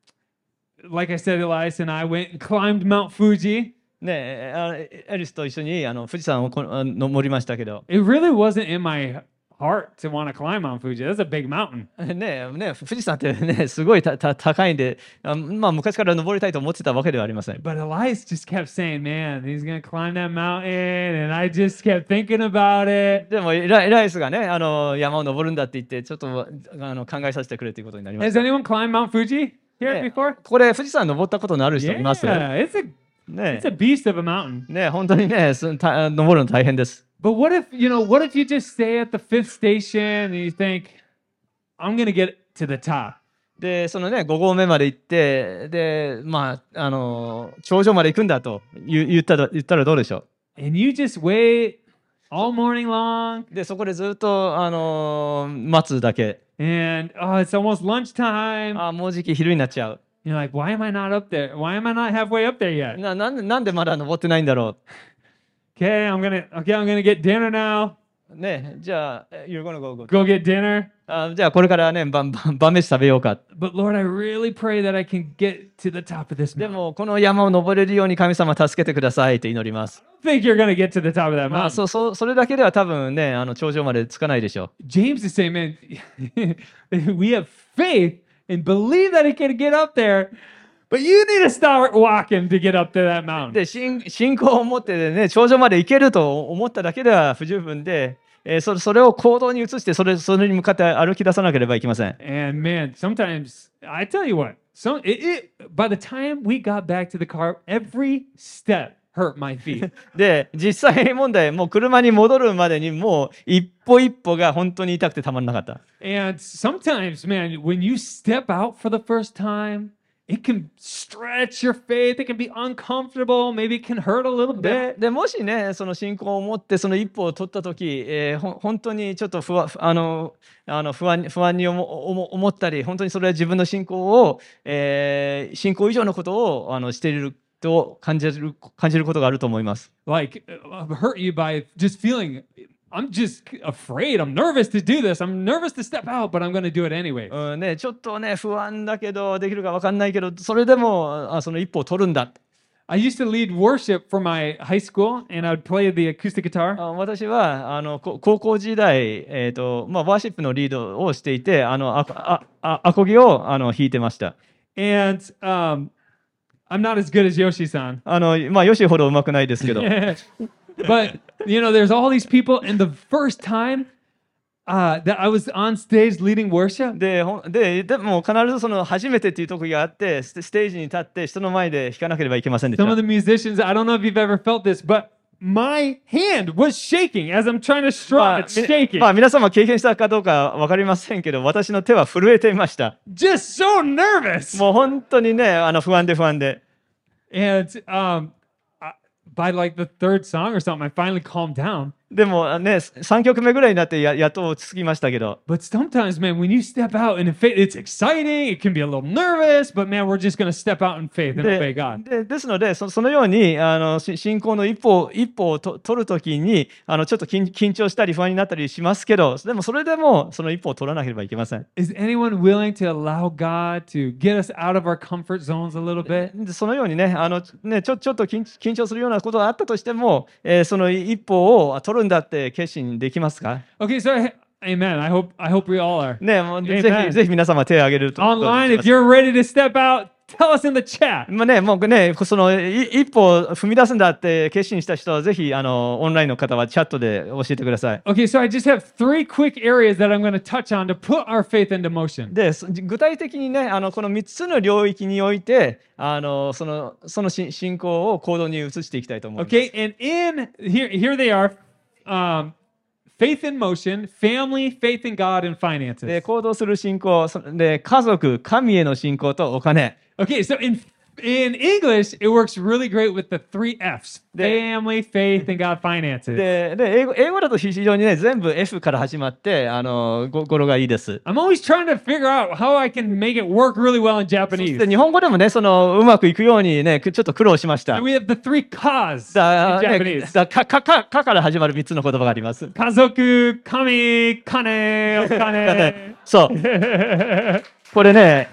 S1: like I said, Elias and I went and climbed Mount Fuji.
S2: う。ねえあのエリスと一緒にあの富士山をこあ登りましたけど、
S1: It really wasn't in my heart to want to climb Mount Fuji. That's a big mountain.
S2: ねえねえ富士山ってねすごいたた高いんで、あまあ昔から登りたいと思ってたわけではありません。
S1: But Elias just kept saying, man, he's going to climb that mountain. And I just kept thinking about it.
S2: でもエラエライスがねあの山を登るんだって言ってちょっとあの考えさせてくれということになりまし
S1: Has
S2: た。
S1: anyone climbed Mount Fuji here
S2: ね
S1: before?
S2: これ富士山登ったことのある人
S1: Yeah,
S2: います？
S1: it's a
S2: ね
S1: it's a beast of a mountain.
S2: ね本当にねすた登るの大変です。
S1: But what if, you know, what if you just stay at the fifth station and you think, I'm going to get to the top?
S2: でそのねご合目まで行ってでまああの頂上まで行くんだと言う言ったら言ったらどうでしょ
S1: And you just wait all morning long.
S2: う。でそこでずっとあの待つだけ。
S1: And oh, it's almost lunchtime.
S2: あもうじき昼になっちゃう。
S1: You're like, why am I not up there? Why am I not halfway up there yet?
S2: ななんでなんでまだ登ってないんだろ
S1: Okay, I'm gonna okay, I'm gonna get dinner now.
S2: う。ねじゃあ You're gonna go, go.
S1: Go get dinner.
S2: あじゃあこれからね晩晩晩飯食べようか。
S1: But Lord, I really pray that I can get to the top of this
S2: で
S1: mountain.
S2: もこの山を登れるように神様助けてくださいと祈ります。
S1: I don't think you're gonna get to the top of that
S2: まあ
S1: mountain.
S2: そうそうそれだけでは多分ねあの頂上までつかないでしょ
S1: James is saying, man, we have faith and believe that he can get up there, but you need to start walking to get up to that
S2: う。
S1: mountain.
S2: で信信仰を持ってね頂上まで行けると思っただけでは不十分で、えーそれそれを行動に移してそれそれに向かって歩き出さなければいけません。
S1: And man, sometimes I tell you what, some it, it by the time we got back to the car, every step hurt my feet.
S2: で実際問題もう車に戻るまでにもう一歩一歩が本当に痛くてたまらなかった。
S1: And sometimes, man, when you step out for the first time, it can stretch your faith. It can be uncomfortable. Maybe it can hurt a little
S2: で
S1: bit.
S2: でもしねその信仰を持ってその一歩を取った時、えーほん本当にちょっと不安あのあの不安不安に思思思ったり本当にそれは自分の信仰を、えー信仰以上のことをあのしていると感じる感じることがあると思います。
S1: Like uh, hurt you by just feeling. I'm just afraid. I'm nervous to do this. I'm nervous to step out, but I'm going to do it anyway.
S2: うんね、ちょっとね不安だけどできるか分かんないけどそれでもあその一歩を取るんだ。
S1: I used to lead worship for my high school, and I would play the acoustic guitar.
S2: あ私はあのこ高校時代、えーとまあ、ワーシップのリードをしていて、あのあああアコギをあの弾いてました。
S1: And um, I'm not as good as Yoshi-san.
S2: あのまあ、ヨシほど上手くないですけど。
S1: But, you know, there's all these people, and the first time uh, that I was on stage leading worship,
S2: でほんででも必ずその初めてっていう時があってステステージに立って人の前で弾かなければいけませんでし
S1: some of
S2: た。
S1: the musicians, I don't know if you've ever felt this, but my hand was shaking as I'm trying to
S2: ま
S1: strum.
S2: あ
S1: It's
S2: み
S1: shaking.
S2: まあ、皆様経験したかどうか分かりませんけど、私の手は震えていました。
S1: Just so nervous.
S2: もう本当にね、あの不安で不安で。
S1: And um, I, by like the third song or something, I finally calmed down.
S2: でもね、さんきょくめぐらいになってややっと落ち着きましたけど。
S1: But sometimes, man, when you step out in faith, it's exciting. It can be a little nervous, but man, we're just going to step out in faith and
S2: で
S1: obey God.
S2: でですのでそ、そのようにあのし信仰の一歩一歩をと取るときにあのちょっと緊緊張したり不安になったりしますけど、でもそれでもその一歩を取らなければいけません。
S1: Is anyone willing to allow God to get us out of our comfort zones a little bit?
S2: でそのようにね、あのねちょちょっと緊緊張するようなことがあったとしても、えーその一歩を取るんだって決心できますか？
S1: Okay, so amen. I hope I hope we all are.
S2: ね、もうぜ
S1: Amen.
S2: ひぜひ皆様手を挙げると。
S1: Online, if you're ready to step out, tell us in the chat.
S2: まあね、もうね、そのい一歩踏み出すんだって決心した人はぜひあのオンラインの方はチャットで教えてください。
S1: Okay, so I just have three quick areas that I'm going to touch on to put our faith into motion.
S2: でそ具体的にね、あのこのみっつの領域においてあのそのそのし信仰を行動に移していきたいと思います。
S1: Okay, and in here, here they are. Um, faith in motion, family, faith in God, and
S2: で
S1: finances.
S2: 行動する信仰、そで家族、神への信仰とお金。
S1: Okay, so in in English, it works really great with the three F's:
S2: The-
S1: family, faith, and God, finances.
S2: でで英語英語だと非常にね全部 F から始まってあのご語呂がいいです。
S1: I'm always trying to figure out how I can make it work really well in
S2: そし
S1: Japanese.
S2: て日本語でもねそのうまくいくようにねちょっと苦労しました。
S1: So we have the three Ka's
S2: だ
S1: in
S2: ね
S1: Japanese.
S2: だかかかかから始まるみっつの言葉があります。
S1: Kazoku, kami, kane, okane.
S2: そうこれね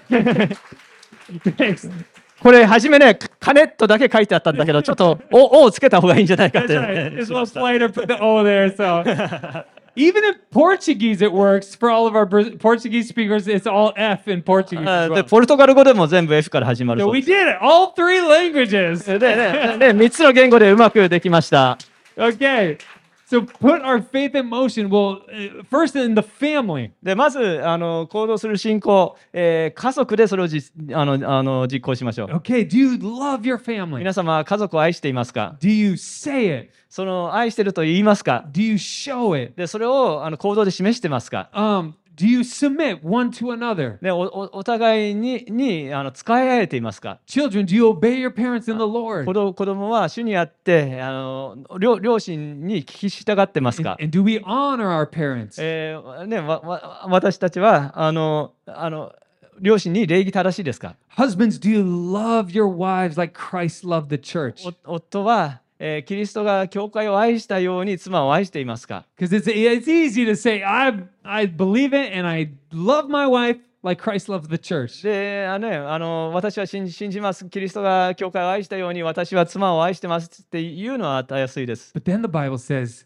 S1: Thanks.
S2: これ初めね金とだけ書いてあったんだけどちょっとおおをつけた方がいいんじゃないかっ
S1: That's
S2: て、
S1: right. It's a little slighter, put the O there. So even in Portuguese, it works for all of our Bra- Portuguese speakers. It's all F in Portuguese.
S2: あ
S1: as
S2: で
S1: well.
S2: ポルトガル語でも全部 F から始まる
S1: So
S2: そう
S1: we
S2: です
S1: did it. All three languages.
S2: でねねみっつの言語でうまくできました。
S1: Okay. So put our faith in motion. Well, uh, first in the family.
S2: でまずあの行動する信仰、えー家族でそれをじあのあの実行しましょう。
S1: Okay. Do you love your family?
S2: 皆様家族を愛していますか？
S1: Do you say it?
S2: その愛してると言いますか？
S1: Do you show it?
S2: でそれをあの行動で示してますか？
S1: Um, do you submit one to another?
S2: でおおお互いににあの使い合えていますか？
S1: Children, do you obey your parents in the Lord?
S2: 子供子供は主にあってあの両両親に聞き従ってますか？
S1: And, and do we honor our parents?
S2: えーね、わわ私たちはあのあの両親に礼儀正しいですか？
S1: Husbands, do you love your wives like Christ loved the church?
S2: お夫は、えーキリストが教会を愛したように妻を愛していますか？
S1: Because it's it's easy to say I I believe it and I love my wife like Christ loved the church.
S2: であの、ね、あの私は信じ信じます。キリストが教会を愛したように私は妻を愛してますっていうのはたやすいです。
S1: But then the Bible says,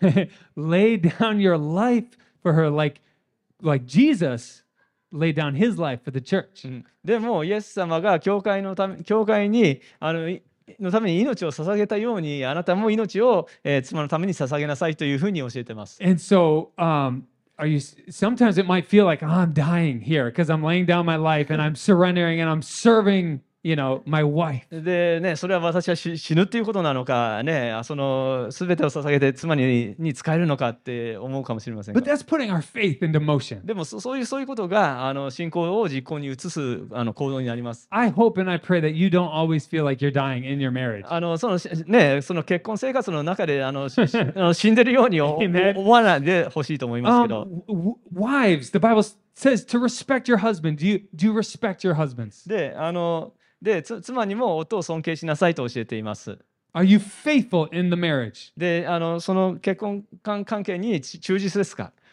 S1: lay down your life for her like like Jesus laid down his life for the church.
S2: うんでもイエス様が教会のため教会にあのいのために命を捧げたようにあなたも命を、えー妻のために捧げなさいというふうに教えてます。
S1: And so um are you sometimes it might feel like oh, I'm dying here because I'm laying down my life and I'm surrendering and I'm serving, you know, my wife.
S2: でね、それは私は死死ぬっていうことなのかね、その全てを捧げて妻にに使えるのかって思うかもしれません
S1: But
S2: が。
S1: that's putting our faith into motion.
S2: でもそそういうそういうことがあの信仰を実行に移すあの行動になります。
S1: I hope and I pray that you don't always feel like you're dying in your marriage.
S2: あのそのしね、その結婚生活の中であのししあの死んでるようにお
S1: Amen.
S2: 思わないでほしいと思いますけど。
S1: Um, w- wives, the Bible says to respect your husband. Do you do you respect your husbands?
S2: で、あのでつ妻にも夫を尊敬しなさいと教えています。
S1: Are you faithful in the marriage?
S2: で、あのその結婚関関係にち忠実ですか？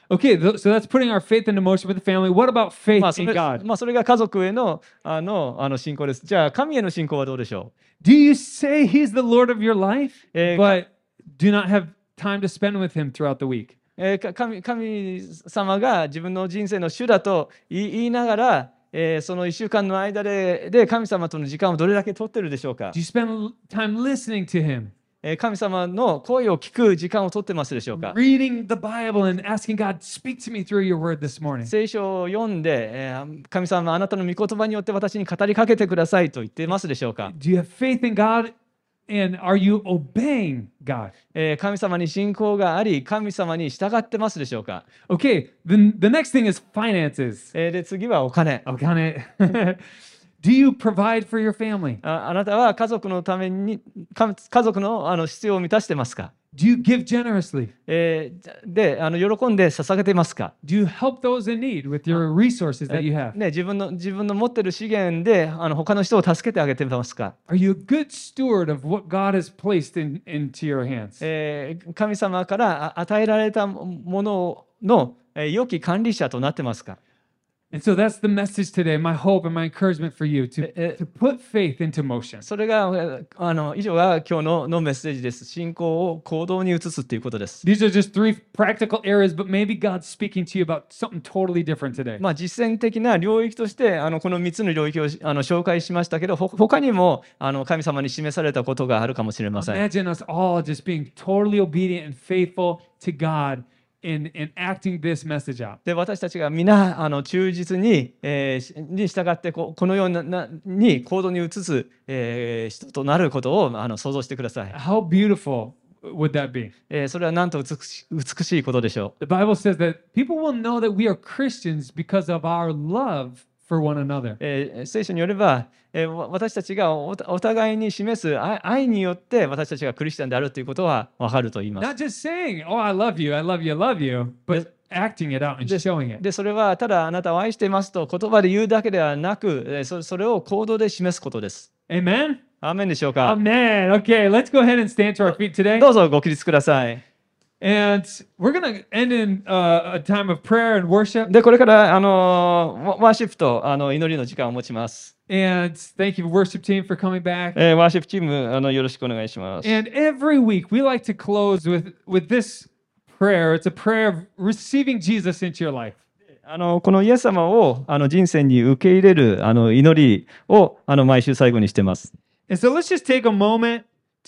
S1: Okay, th- so that's putting our faith into motion with the family. What about faith
S2: まあそ
S1: in
S2: れ
S1: God?
S2: まあそれが家族へのあのあの信仰です。じゃあ、神への信仰はどうでしょ
S1: Do you say He's the Lord of your life,
S2: Eh,
S1: but do not have time to spend with Him throughout the week?
S2: う、えーか神神様が自分の人生の主だと言い言いながら、えーそのいっしゅうかんの間でで神様との時間をどれだけ取ってるでしょうか
S1: Do you spend time listening to Him,
S2: えー神様の声を聞く時間を取ってますでしょうか
S1: reading the Bible, and asking God, speak to me through your word this morning?
S2: 聖書を読んで、えー神様あなたの御言葉によって私に語りかけてくださいと言ってますでしょうか、
S1: Do you have faith in God, and are you obeying God?
S2: えー神様に信仰があり神様に従ってますでしょうか、
S1: Okay, the, the next thing is finances.
S2: えーで次はお金
S1: Oh, got it. Do you provide for your family?
S2: ああなたは家族のためにか家族のあの必要を満たしてますか、
S1: Do you give generously?
S2: えーであの喜んで捧げてますか、
S1: Do you help those in need with your resources that you have?
S2: ね、自分の自分の持ってる資源であの他の人を助けてあげてますか、
S1: Are you a good steward of what God has placed in, into your hands?
S2: えー神様からあ与えられたものの、えー良き管理者となってますか、
S1: And so that's the message today. My hope and my encouragement for you to,
S2: Eh, eh.
S1: to put faith into motion.
S2: それがえーあの以上が今日ののメッセージです。信仰を行動に移すということです。
S1: These are just three practical areas, but maybe God's speaking to you about something totally different today.
S2: まあ、実践的な領域としてあのこのみっつの領域をあの紹介しましたけど、ほ他にもあの神様に示されたことがあるかもしれません。
S1: Imagine us all just being totally obedient and faithful to God in, in acting this message out.
S2: で私たちが皆あの忠実に,、えーしに従ってここのようななに行動に移す、えー人となることをあの想像してください。
S1: How beautiful would that be?
S2: えーそれはなんと美し美しいことでしょう。
S1: The Bible says that people will know that we are Christians because of our love for one another.
S2: えー聖書によれば、えーわ私たちがおお互いに示す愛愛によって私たちがクリスチャンであるということは分かると言います。
S1: Not just saying, oh, I love you, I love you, I love you, but acting it out and showing it.
S2: でそれはただあなたを愛していますと言葉で言うだけではなく、えーそそれを行動で示すことです。
S1: Amen?
S2: アーメンでしょうか。
S1: Amen. Okay, let's go ahead and stand to our feet today.
S2: どうぞご起立ください。
S1: And we're going to end in uh, a time of prayer and worship.
S2: でこれからあのワワーシップとあの祈りの時間を持ちます。
S1: And thank you, worship team, for coming back.
S2: えーワーシップチームあのよろしくお願いします。
S1: And every week we like to close with, with this prayer. It's a prayer of receiving Jesus into your life.
S2: あのこのイエス様をあの人生に受け入れるあの祈りをあの毎週最後にしてます。
S1: And so let's just take a moment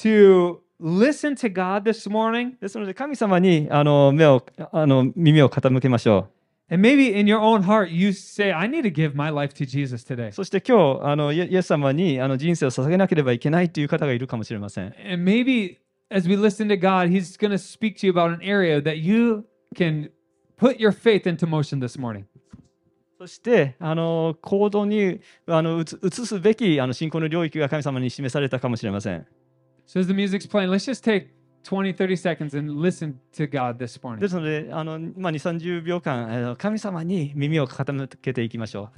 S1: to listen to God this morning.
S2: ですので神様にあの目をあの耳を傾けましょ
S1: And maybe in your own heart, you say, I need to give my life to Jesus today.
S2: う。そして今日あのイエイエス様にあの人生を捧げなければいけないという方がいるかもしれません。
S1: And maybe as we listen to God, He's going to speak to you about an area that you can put your faith into motion this morning.
S2: そしてあの行動にあの移移すべきあの信仰の領域が神様に示されたかもしれません。
S1: So as the music's playing, let's just take twenty, thirty seconds and listen to God this morning.
S2: ですのであの、まあ、にじゅう、さんじゅうびょうかんあの神様に耳を傾けていきましょう。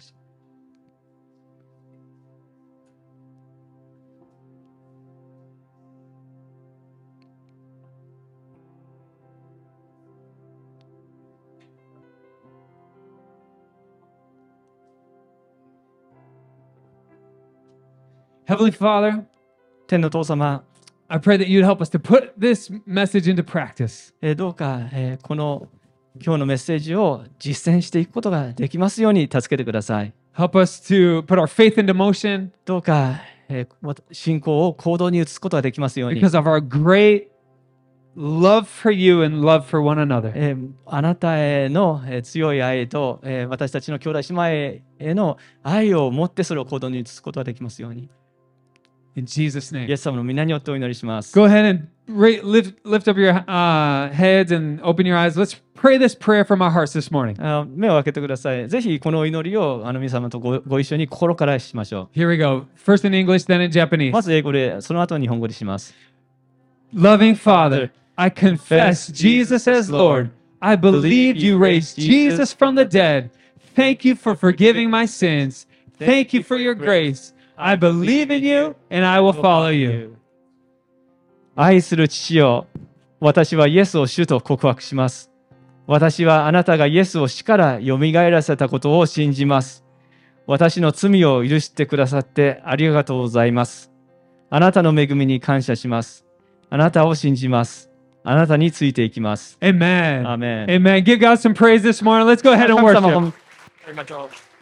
S1: Heavenly Father,
S2: 天の父様、
S1: I pray that you'd help us to put this message into practice.
S2: えーどうか、えーこの今日のメッセージを実践していくことができますように助けてください。
S1: Help us to put our faith into motion
S2: どうか、えーわ信仰を行動に移すことができますように、
S1: because of our great love for you and love for one another.
S2: えーあなたへの、えー強い愛と、えー私たちの兄弟姉妹への愛を持ってそれを行動に移すことができますように、
S1: In Jesus'
S2: イ
S1: name.
S2: エス様の皆によってお祈りします。
S1: Go ahead and ra- lift, lift up your uh, heads and open your eyes. Let's pray this prayer from our hearts this morning.
S2: あ目を開けてください。ぜひこの祈りをあの皆様とごご一緒に心からしましょ
S1: Here we go. First in English, then in
S2: う。
S1: Japanese.
S2: まず英語で、その後日本語でします。
S1: Loving Father, I confess Jesus as Lord. I believe you raised Jesus from the dead. Thank you for forgiving my sins. Thank you for your grace. I believe in you and I will follow you.
S2: 愛する父よ、私はイエスを主と告白します。 私はあなたがイエスを死からよみがえらせたことを信じます。私の罪を許してくださってありがとうございます。あなたの恵みに感謝します。あなたを信じます。あなたについていきます。
S1: Amen.
S2: Amen.
S1: Amen. Give God some praise this morning. Let's go ahead and
S2: 神様
S1: worship.
S2: を褒めましょう。